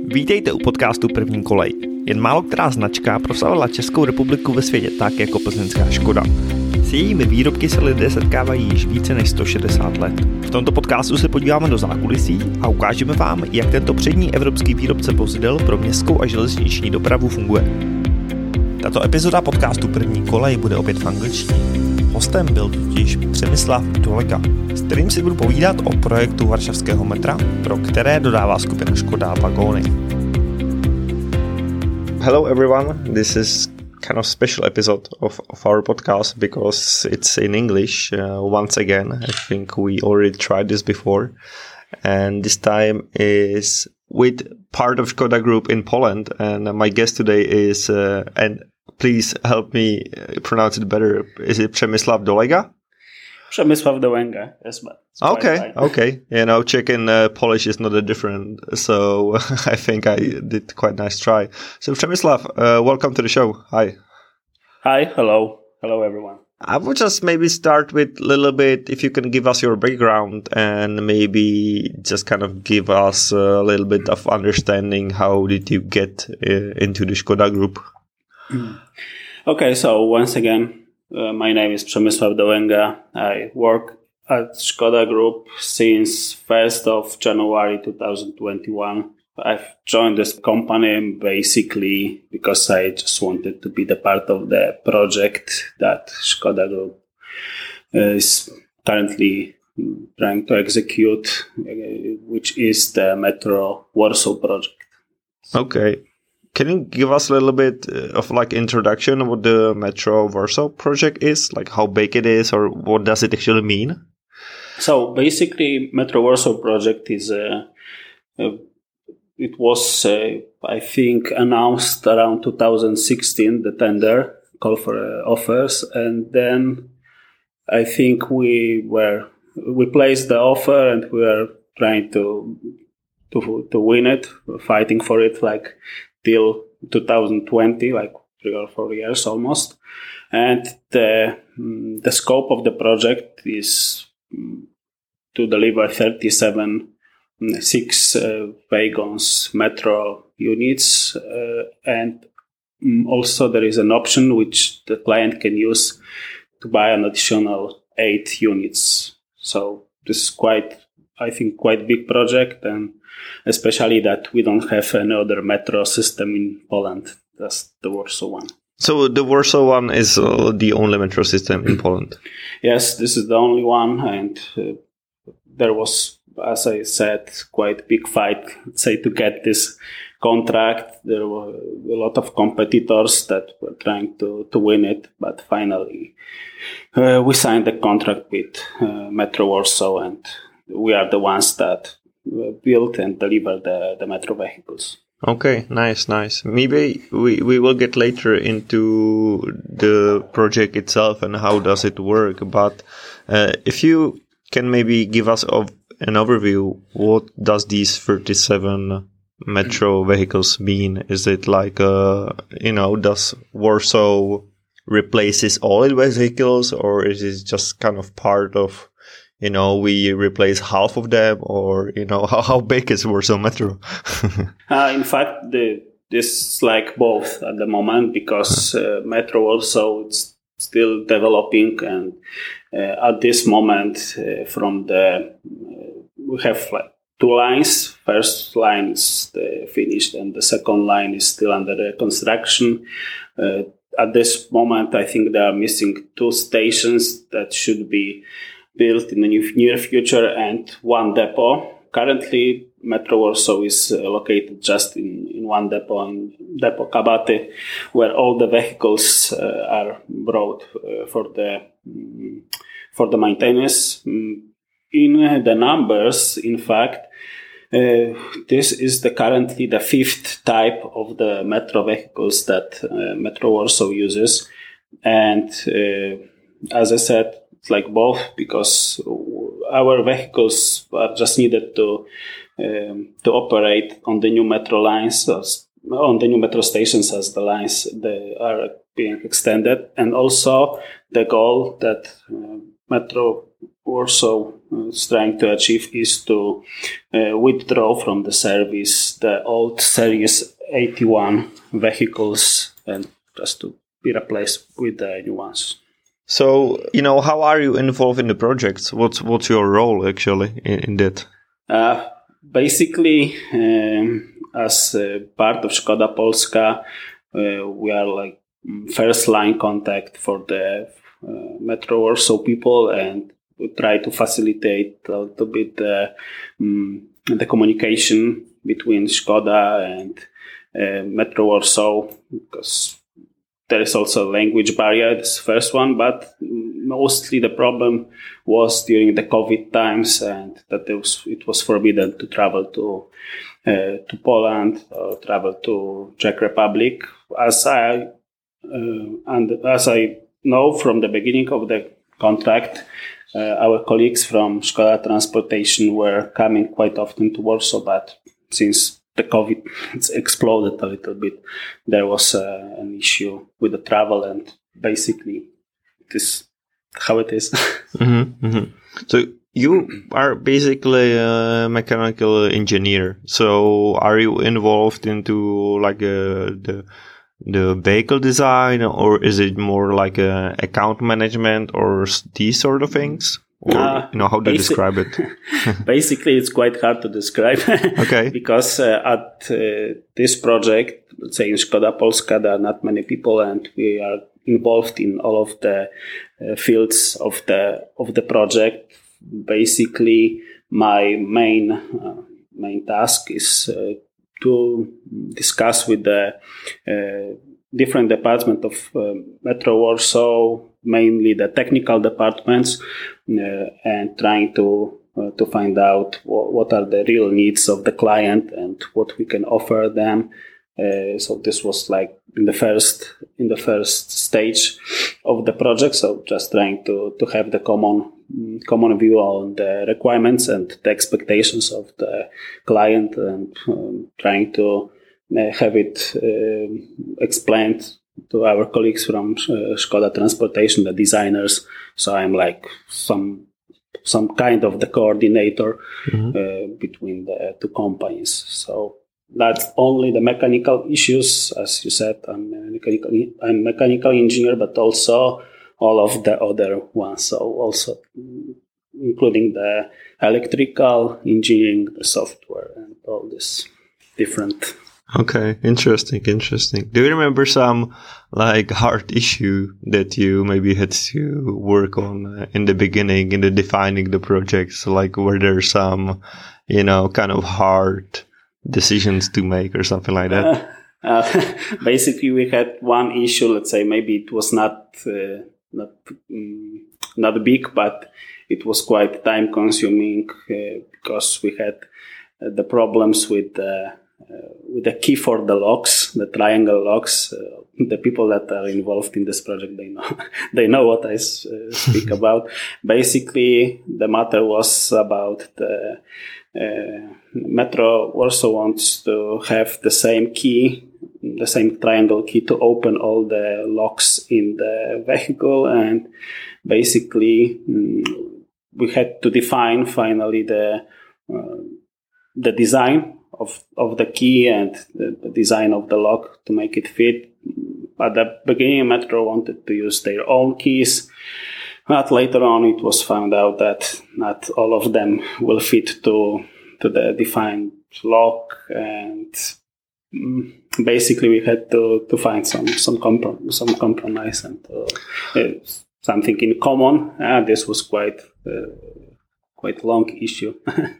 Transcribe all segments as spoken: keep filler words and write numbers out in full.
Vítejte u podcastu První kolej. Jen málo která značka proslavila Českou republiku ve světě tak jako plzeňská Škoda. S jejími výrobky se lidé setkávají již více než sto šedesát let. V tomto podcastu se podíváme do zákulisí a ukážeme vám, jak tento přední evropský výrobce vozidel pro městskou a železniční dopravu funguje. Tato epizoda podcastu První kolej bude opět v angličtině. Hostem byl totiž Přemysław Dolega, s kterým si budu povídat o projektu varšavského metra, pro které dodává skupina Škoda vagóny. Hello everyone, this is kind of special episode of, of our podcast because it's in English uh, once again. I think we already tried this before, and this time is with part of Škoda Group in Poland, and my guest today is uh, and please help me pronounce it better. Is it Przemysław Dolega? Przemysław Dolega, yes, but okay, right. okay. You know, Czech and uh, Polish is not that different, so I think I did quite nice try. So Przemysław, uh, welcome to the show. Hi. Hi, hello, hello everyone. I would just maybe start with a little bit, if you can give us your background and maybe just kind of give us a little bit of understanding how did you get uh, into the Škoda Group. Okay, so once again, uh, my name is Przemysław Dolega. I work at Škoda Group since first of January twenty twenty-one. I've joined this company basically because I just wanted to be the part of the project that Škoda Group is currently trying to execute, which is the Metro Warsaw project. Okay. Can you give us a little bit of like introduction of what the Metro Warsaw project is, like how big it is, or what does it actually mean? So basically, Metro Warsaw project is a, a it was uh, I think announced around two thousand sixteen, the tender call for uh, offers, and then I think we were we placed the offer and we were trying to to to win it, fighting for it like till two thousand twenty, like three or four years almost. And the the scope of the project is to deliver thirty-seven six uh, wagons metro units, uh, and also there is an option which the client can use to buy an additional eight units. So this is quite, I think, quite big project, and especially that we don't have any other metro system in Poland. That's the Warsaw one. So the Warsaw one is uh, the only metro system in Poland? Yes, this is the only one, and uh, there was, as I said, quite a big fight, say, to get this contract. There were a lot of competitors that were trying to, to win it, but finally uh, we signed the contract with uh, Metro Warsaw, and we are the ones that build and deliver the, the metro vehicles. Okay, nice, nice. Maybe we, we will get later into the project itself and how does it work, but uh, if you can maybe give us of an overview, what does these thirty-seven metro vehicles mean? Is it like, uh, you know, does Warsaw replaces all its vehicles, or is it just kind of part of, you know, we replace half of them, or, you know, how, how big is Warsaw Metro? uh, in fact, the, this is like both at the moment, because uh, Metro Warsaw is still developing, and uh, at this moment, uh, from the, uh, we have like two lines. First line is uh, finished, and the second line is still under the construction. Uh, at this moment, I think they are missing two stations that should be built in the near future, and one depot. Currently, Metro Warsaw is uh, located just in, in one depot, in Depot Kabaty, where all the vehicles uh, are brought uh, for the um, for the maintenance. Um, in uh, the numbers, in fact, uh, this is the currently the fifth type of the metro vehicles that uh, Metro Warsaw uses, and uh, as I said, it's like both, because our vehicles are just needed to um, to operate on the new metro lines, as, on the new metro stations as the lines they are being extended, and also the goal that uh, Metro Warsaw is trying to achieve is to uh, withdraw from the service the old Series eighty-one vehicles and just to be replaced with the new ones. So, you know, how are you involved in the projects? What's what's your role actually in, in that? Uh, basically, um, as uh, part of Škoda Polska, uh, we are like first line contact for the uh, Metro Warsaw people, and we try to facilitate a little bit uh, um, the communication between Škoda and uh, Metro Warsaw, because there is also a language barrier, this first one, but mostly the problem was during the COVID times, and that it was, it was forbidden to travel to uh, to Poland or travel to Czech Republic. As I uh, and as I know from the beginning of the contract, uh, our colleagues from Škoda Transportation were coming quite often to Warsaw, but since the COVID it's exploded a little bit, there was uh, an issue with the travel, and basically this is how it is. mm-hmm, mm-hmm. So you are basically a mechanical engineer. So are you involved into like a, the the vehicle design, or is it more like a account management or these sort of things? Or, uh, you know, how do you describe it? Basically, it's quite hard to describe. Okay. Because uh, at uh, this project, let's say in Škoda Polska, there are not many people, and we are involved in all of the uh, fields of the of the project. Basically, my main uh, main task is uh, to discuss with the uh, different departments of uh, Metro Warsaw, mainly the technical departments, uh, and trying to uh, to find out w- what are the real needs of the client and what we can offer them. Uh, so this was like in the first in the first stage of the project. So just trying to to have the common common view on the requirements and the expectations of the client, and um, trying to uh, have it uh, explained to our colleagues from uh, Škoda Transportation, the designers. So I'm like some some kind of the coordinator mm-hmm. uh, between the two companies. So that's only the mechanical issues, as you said. I'm a mechanical, I'm a mechanical engineer, but also all of the other ones. So also including the electrical engineering, the software, and all this different. Okay, interesting, interesting. Do you remember some like hard issue that you maybe had to work on uh, in the beginning, in the defining the projects? Like, were there some, you know, kind of hard decisions to make or something like that? Uh, uh, basically, we had one issue. Let's say maybe it was not uh, not um, not big, but it was quite time consuming uh, because we had uh, the problems with the uh, with the key for the locks, the triangle locks. Uh, the people that are involved in this project, they know they know what I uh, speak about. Basically, the matter was about the uh, Metro Warsaw wants to have the same key, the same triangle key to open all the locks in the vehicle, and basically um, we had to define finally the uh, the design of of the key and the, the design of the lock to make it fit. At the beginning, Metro wanted to use their own keys, but later on it was found out that not all of them will fit to to the defined lock, and um, basically we had to, to find some some, comprom- some compromise and uh, uh, something in common. Uh, this was quite uh, quite long issue.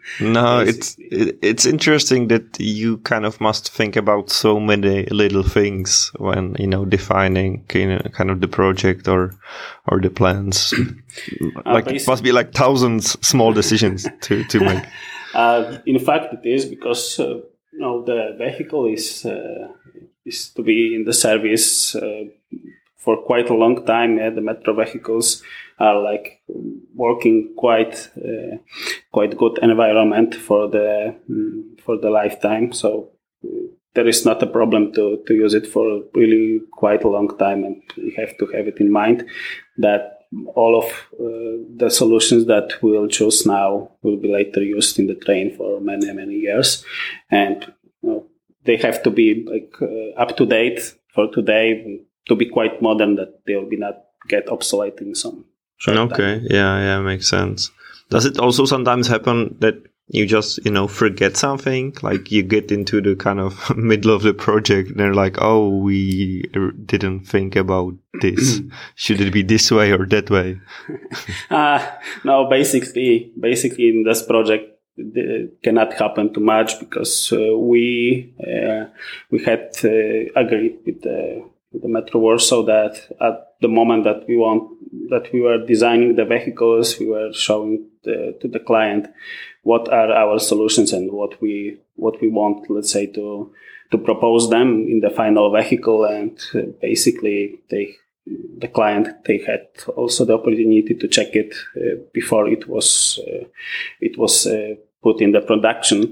No, it's it, it's interesting that you kind of must think about so many little things when, you know, defining kind of, kind of the project or or the plans. Like uh, it must be like thousands small decisions to to make. Uh, in fact, it is because uh, you know the vehicle is uh, is to be in the service uh, for quite a long time. Yeah, the Metro vehicles are like working quite uh, quite good environment for the um, for the lifetime. So uh, there is not a problem to to use it for really quite a long time, and we have to have it in mind that all of uh, the solutions that we'll choose now will be later used in the train for many, many years. And you know, they have to be like uh, up to date for today, to be quite modern, that they will be not get obsolete in some short okay. time. Yeah, yeah, makes sense. Does it also sometimes happen that you just, you know, forget something? Like you get into the kind of middle of the project and they're like, oh, we didn't think about this. Should it be this way or that way? uh, no, basically, basically in this project, it cannot happen too much because uh, we uh, we had uh, agreed with the, with the Metro Warsaw that at the moment that we want that we were designing the vehicles, we were showing the, to the client what are our solutions and what we what we want, let's say, to to propose them in the final vehicle. And uh, basically, they the client they had also the opportunity to check it uh, before it was uh, it was uh, put in the production.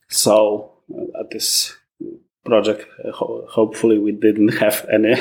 So uh, at this project, uh, ho- hopefully, we didn't have any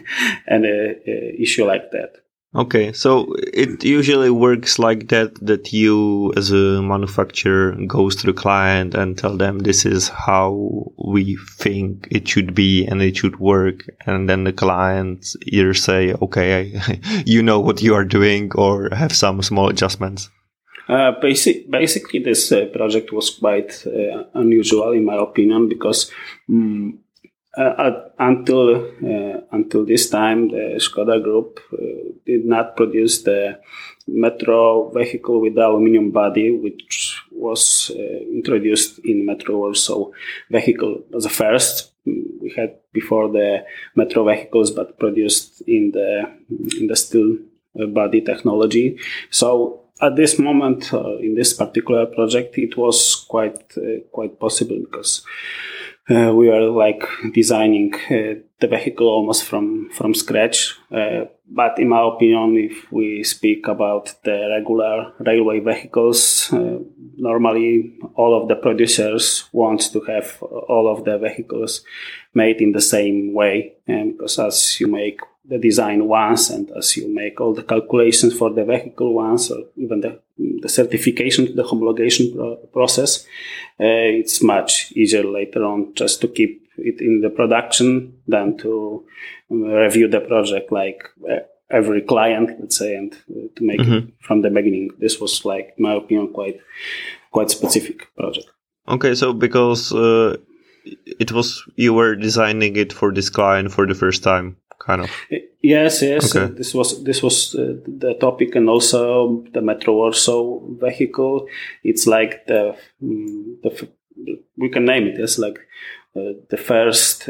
any uh, issue like that. Okay, so it usually works like that, that you as a manufacturer goes to the client and tell them this is how we think it should be and it should work. And then the clients either say, okay, you know what you are doing, or have some small adjustments. Uh, basic, basically, this uh, project was quite uh, unusual, in my opinion, because um, uh, until uh, until this time, the Skoda Group uh, did not produce the Metro vehicle with the aluminum body, which was uh, introduced in Metro Warsaw vehicle as a first. We had before the Metro vehicles, but produced in the in the steel body technology. So at this moment, uh, in this particular project, it was quite uh, quite possible because uh, we were like designing uh, the vehicle almost from from scratch. Uh, but in my opinion, if we speak about the regular railway vehicles, uh, normally all of the producers want to have all of the vehicles made in the same way, and because as you make the design once and as you make all the calculations for the vehicle once, or even the, the certification, the homologation pro- process, uh, it's much easier later on just to keep it in the production than to review the project like uh, every client, let's say, and uh, to make mm-hmm. it from the beginning. This was, like, in my opinion, quite quite specific project. Okay, so because uh, it was, you were designing it for this client for the first time. Kind of. Yes, yes. Okay. Uh, this was this was uh, the topic, and also the Metro Warsaw vehicle. It's like the, um, the we can name it as like uh, the first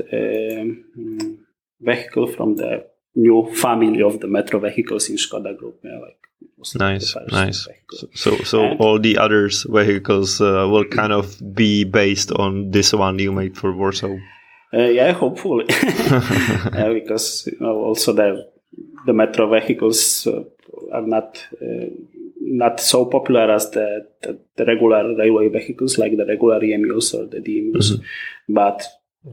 um, vehicle from the new family of the Metro vehicles in Skoda Group. Yeah, like it was nice, nice. Vehicle. So, so and all the others vehicles uh, will kind of be based on this one you made for Warsaw. Uh, yeah, hopefully, uh, because you know, also the the Metro vehicles uh, are not uh, not so popular as the, the, the regular railway vehicles, like the regular E M Us or the D M Us. Mm-hmm. But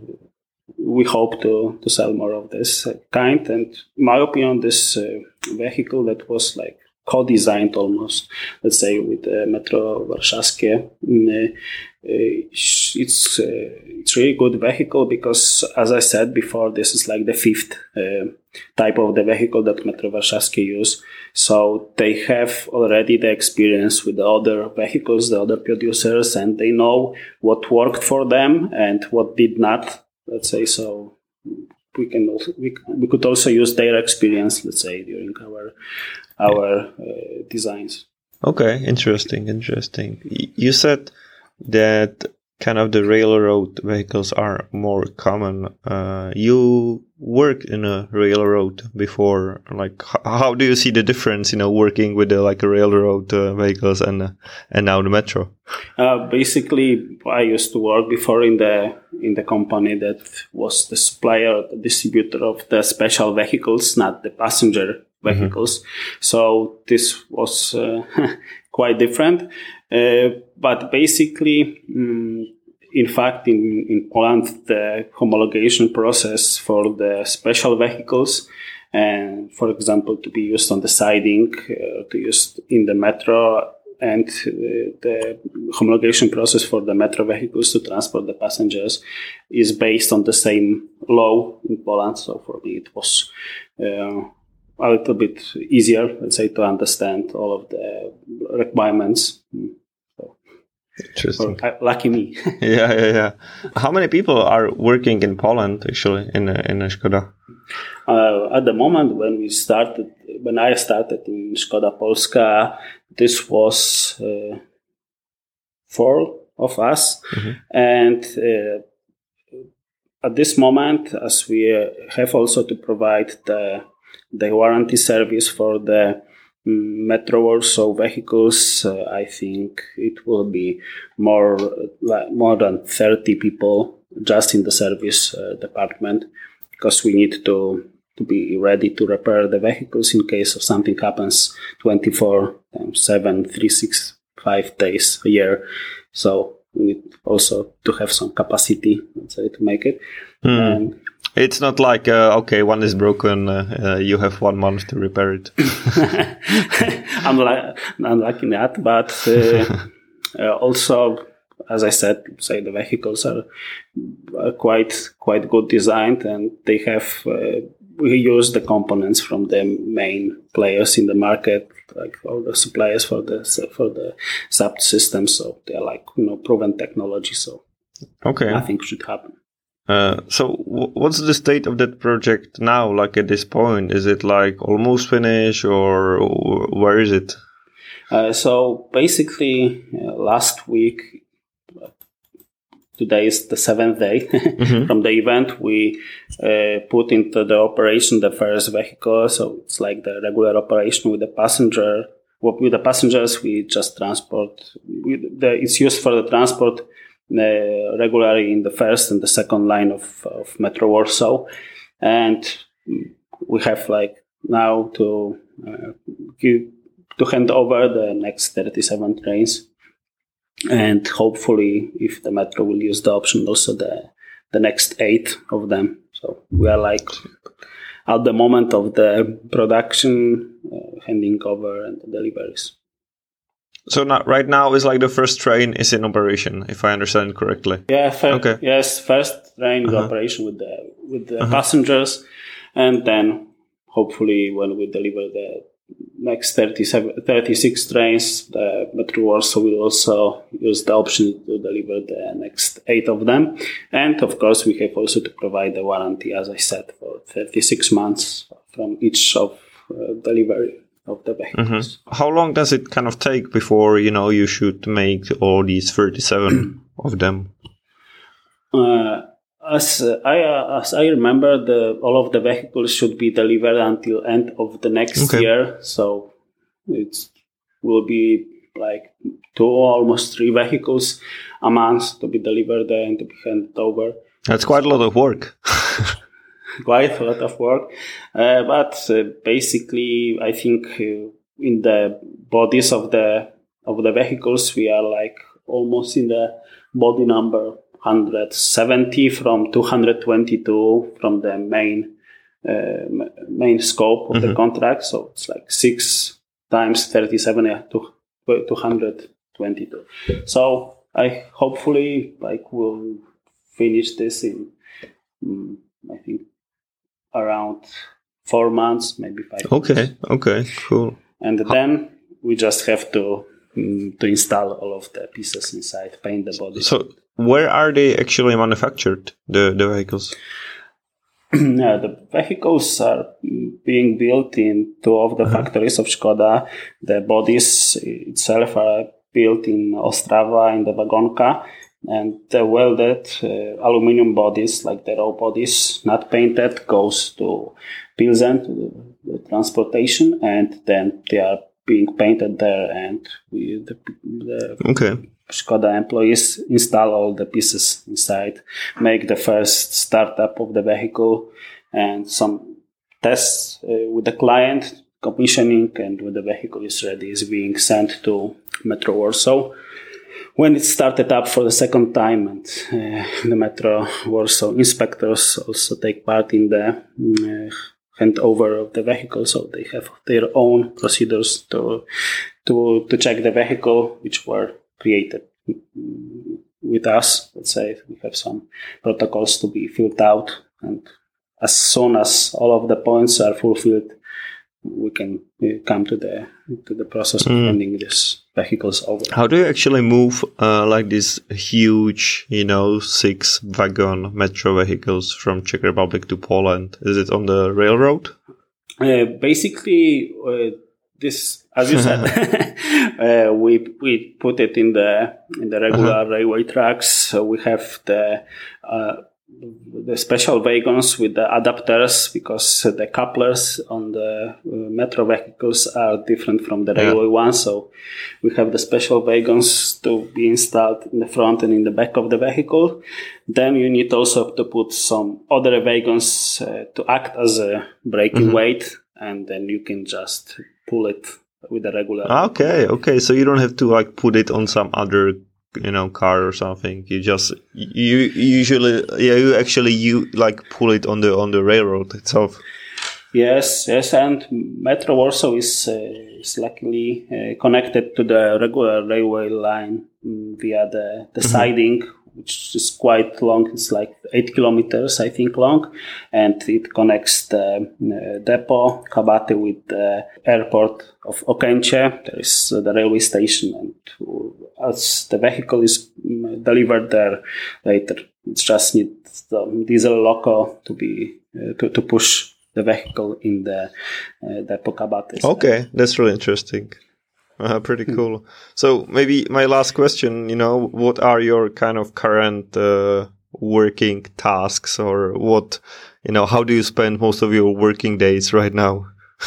we hope to to sell more of this kind. And in my opinion, this uh, vehicle that was like co-designed almost, let's say, with uh, Metro Warszawskie. Uh, it's uh, it's really good vehicle because, as I said before, this is like the fifth uh, type of the vehicle that Metro Warszawskie use. So they have already the experience with the other vehicles, the other producers, and they know what worked for them and what did not. Let's say so. We can also we, we could also use their experience, let's say, during our our uh, designs. Okay, interesting, interesting. You said that kind of the railroad vehicles are more common. Uh, you worked in a railroad before. Like, how do you see the difference, you know, working with the, like a railroad uh, vehicles and uh, and now the metro? Uh, basically, I used to work before in the in the company that was the supplier, the distributor of the special vehicles, not the passenger vehicles. Mm-hmm. So this was uh, quite different. Uh, but basically, um, in fact, in, in Poland, the homologation process for the special vehicles and for example, to be used on the siding, uh, to use in the metro, and uh, the homologation process for the metro vehicles to transport the passengers is based on the same law in Poland. So for me, it was uh, a little bit easier, let's say, to understand all of the requirements. So, interesting. or, uh, lucky me. yeah, yeah, yeah. How many people are working in Poland actually in a, in a Skoda? Uh, at the moment when we started, when I started in Skoda Polska, this was uh, four of us, mm-hmm. and uh, at this moment, as we uh, have also to provide the the warranty service for the um, Metro Warsaw vehicles, uh, I think it will be more like more than thirty people just in the service uh, department, because we need to to be ready to repair the vehicles in case of something happens twenty-four seven, three sixty-five days a year. So we need also to have some capacity, let's say, to make it. Mm. Um, it's not like, uh, okay, one is broken, uh, uh, you have one month to repair it. I'm like, I'm liking that, but uh, uh, also, as I said, say the vehicles are, are quite quite good designed, and they have uh, we use the components from the main players in the market, like all the suppliers for the for the subsystems. So they're like, you know, proven technology. So okay, nothing should happen. Uh, so w- what's the state of that project now? Like at this point, is it like almost finished, or where is it? Uh, so basically, uh, last week. Today is the seventh day mm-hmm. from the event. We uh, put into the operation the first vehicle, so it's like the regular operation with the passenger. With the passengers, we just transport. We, the, it's used for the transport uh, regularly in the first and the second line of, of Metro Warsaw, and we have like now to uh, give, to hand over the next thirty-seven trains. And hopefully, if the Metro will use the option, also the the next eight of them. So we are like at the moment of the production, uh, handing over and the deliveries. So now, right now is like the first train is in operation, if I understand correctly. Yeah. Fir- okay. Yes, first train uh-huh. in operation with the with the uh-huh. passengers, and then hopefully when we deliver the next thirty-seven, thirty-six trains, the Metro Warsaw will also use the option to deliver the next eight of them. And of course, we have also to provide the warranty, as I said, for thirty-six months from each of uh, delivery of the vehicles. Mm-hmm. How long does it kind of take before, you know, you should make all these thirty-seven of them? Uh, As uh, I uh, as I remember, the all of the vehicles should be delivered until end of the next okay. year. So it will be like two or almost three vehicles a month to be delivered and to be handed over. That's quite a lot of work. Quite a lot of work, uh, but uh, basically, I think uh, in the bodies of the of the vehicles, we are like almost in the body number one hundred seventy from two hundred twenty-two from the main uh, main scope of mm-hmm. the contract. So it's like six times thirty-seven, yeah, to two hundred twenty-two. So I hopefully like will finish this in um, I think around four months, maybe five. Okay, months. okay, cool. And then we just have to um, to install all of the pieces inside, paint the body. So where are they actually manufactured, the, the vehicles? Yeah, the vehicles are being built in two of the uh-huh. factories of Skoda. The bodies itself are built in Ostrava, in the Wagonka, and the welded uh, aluminum bodies, like the raw bodies, not painted, goes to Pilsen, to the, the transportation, and then they are being painted there, and we the, the okay. Skoda employees install all the pieces inside, make the first startup of the vehicle, and some tests uh, with the client, commissioning, and when the vehicle is ready, is being sent to Metro Warsaw. When it started up for the second time, and uh, the Metro Warsaw inspectors also take part in the uh, handover of the vehicle. So they have their own procedures to to to check the vehicle, which were created with us. Let's say we have some protocols to be filled out, and as soon as all of the points are fulfilled, we can come to the to the process of mm. handing these vehicles over. How do you actually move uh, like these huge, you know, six wagon metro vehicles from Czech Republic to Poland? Is it on the railroad? Uh, basically, uh, this, as you said, uh, we we put it in the in the regular uh-huh. railway tracks. So we have the uh, the special wagons with the adapters, because the couplers on the uh, metro vehicles are different from the railway yeah. ones. So we have the special wagons to be installed in the front and in the back of the vehicle. Then you need also to put some other wagons uh, to act as a braking mm-hmm. weight, and then you can just pull it with a regular. Okay, okay. So you don't have to like put it on some other, you know, car or something. You just you usually yeah you actually you like pull it on the on the railroad itself. Yes, yes, and Metro Warsaw is uh, is luckily uh, connected to the regular railway line um, via the the mm-hmm. siding, which is quite long. It's like eight kilometers, I think, long, and it connects the uh, depot Kabaty with the airport of Okęcie. There is uh, the railway station, and as the vehicle is delivered there later, it just needs the diesel loco to be uh, to, to push the vehicle in the uh, depot Kabaty. Okay, that's really interesting. Uh, pretty cool. So maybe my last question, you know, what are your kind of current uh, working tasks, or what, you know, how do you spend most of your working days right now?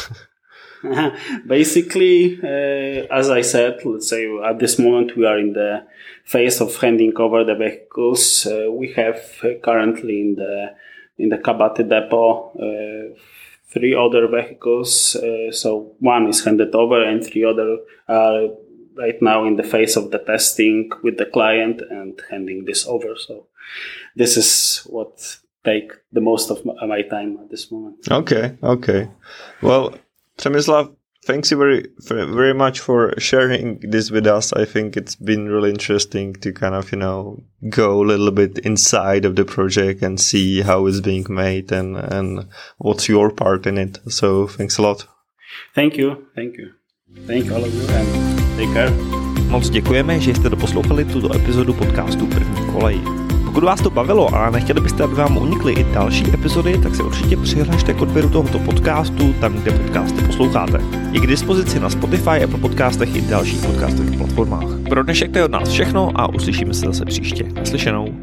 Basically, uh, as I said, let's say at this moment we are in the phase of handing over the vehicles. Uh, we have uh, currently in the in the Kabaty depot uh, three other vehicles. Uh, so one is handed over, and three other are right now in the phase of the testing with the client and handing this over. So this is what take the most of my, my time at this moment. Okay, okay. Well, Przemysław, thanks you very, very much for sharing this with us. I think it's been really interesting to kind of, you know, go a little bit inside of the project and see how it's being made and, and what's your part in it. So thanks a lot. Thank you. Thank you. Thank all of you and take care. Moc děkujeme, že jste doposlouchali tuto epizodu podcastu První kolej. Pokud vás to bavilo a nechtěli byste, aby vám unikly i další epizody, tak se určitě přihlašte k odběru tohoto podcastu tam, kde podcasty posloucháte. Je k dispozici na Spotify, Apple podcastech i dalších podcastových platformách. Pro dnešek to je od nás všechno a uslyšíme se zase příště. Naslyšenou.